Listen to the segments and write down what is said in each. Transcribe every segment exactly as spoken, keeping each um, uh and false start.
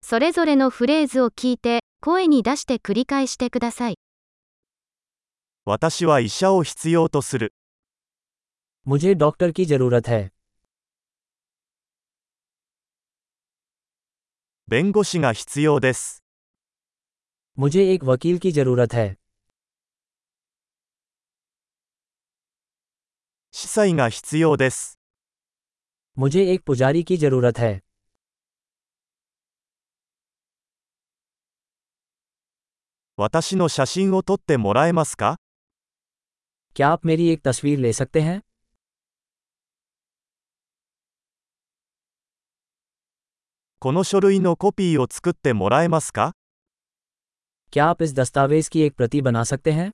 それぞれのフレーズを聞いて、声に出して繰り返してください。 私は医者を必要とする。 मुझे डॉक्टर की जरूरत है। 弁護士が必要です。 मुझे एक वकील की जरूरत है। 司祭が必要です。 मुझे एक पुजारी की जरूरत है। 私の写真を撮ってもらえますか？ क्या आप मेरी एक तस्वीर ले सकते हैं? この書類のコピーを作ってもらえますか？ क्या आप इस दस्तावेज की एक प्रति बना सकते हैं?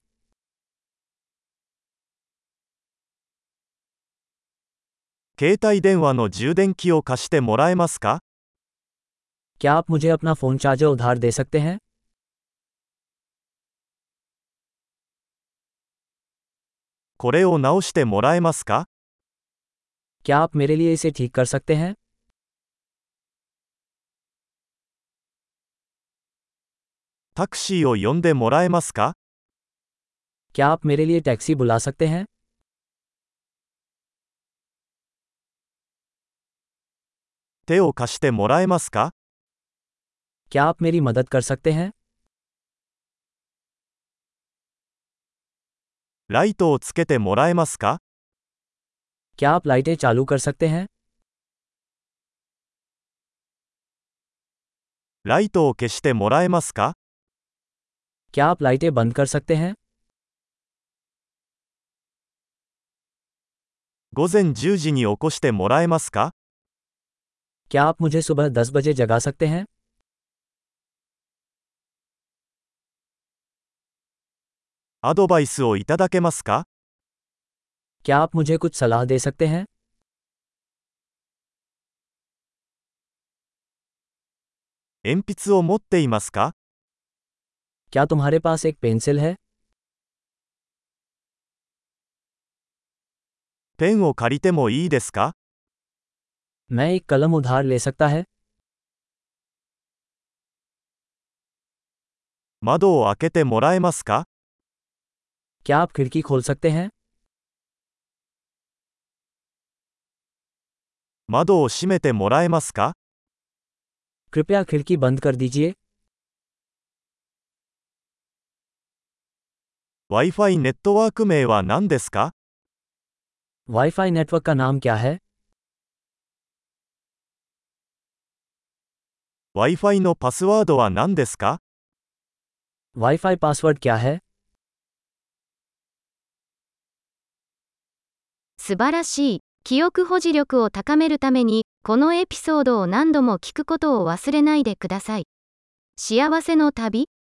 携帯電話の充電器を貸してもらえますか？ क्या आप मुझे अपना फ़ोन चार्जर उधार दे सकते हैं? これを直してもらえますか？ क्या आप मेरे लिए इसे ठीक कर सकते हैं? タクシーを呼んでもらえますか？ क्या आप मेरे लिए टैक्सी बुला सकते हैं? 手を貸してもらえますか？ क्या आप मेरी मदद कर सकते हैं? ライトをつけてもらえますか？ क्या आप लाइटें चालू कर सकते हैं? ライトを消してもらえますか？ क्या आप लाइटें बंद कर सकते हैं? 午前じゅうじに起こしてもらえますか？ क्या आप मुझे सुबह दस बजे जगा सकते हैं? アドバイスをいただけますか？ क्या आप मुझे कुछ सलाह दे सकते हैं? 鉛筆を持っていますか？ क्या तुम्हारे पास एक पेंसिल है? ペンを借りてもいいですか？ मैं एक कलम उधार ले सकता है? 窓を開けてもらえますか？ क्या आप खिड़की खोल सकते हैं? 窓を閉めてもらえますか？ कृपया खिड़की बंद कर दीजिए। Wi-Fi ネットワーク名は何ですか？ वाईफाई नेटवर्क का नाम क्या है? Wi-Fi のパスワードは何ですか？ वाईफाई पासवर्ड क्या है? 素晴らしい。記憶保持力を高めるために、このエピソードを何度も聞くことを忘れないでください。幸せの旅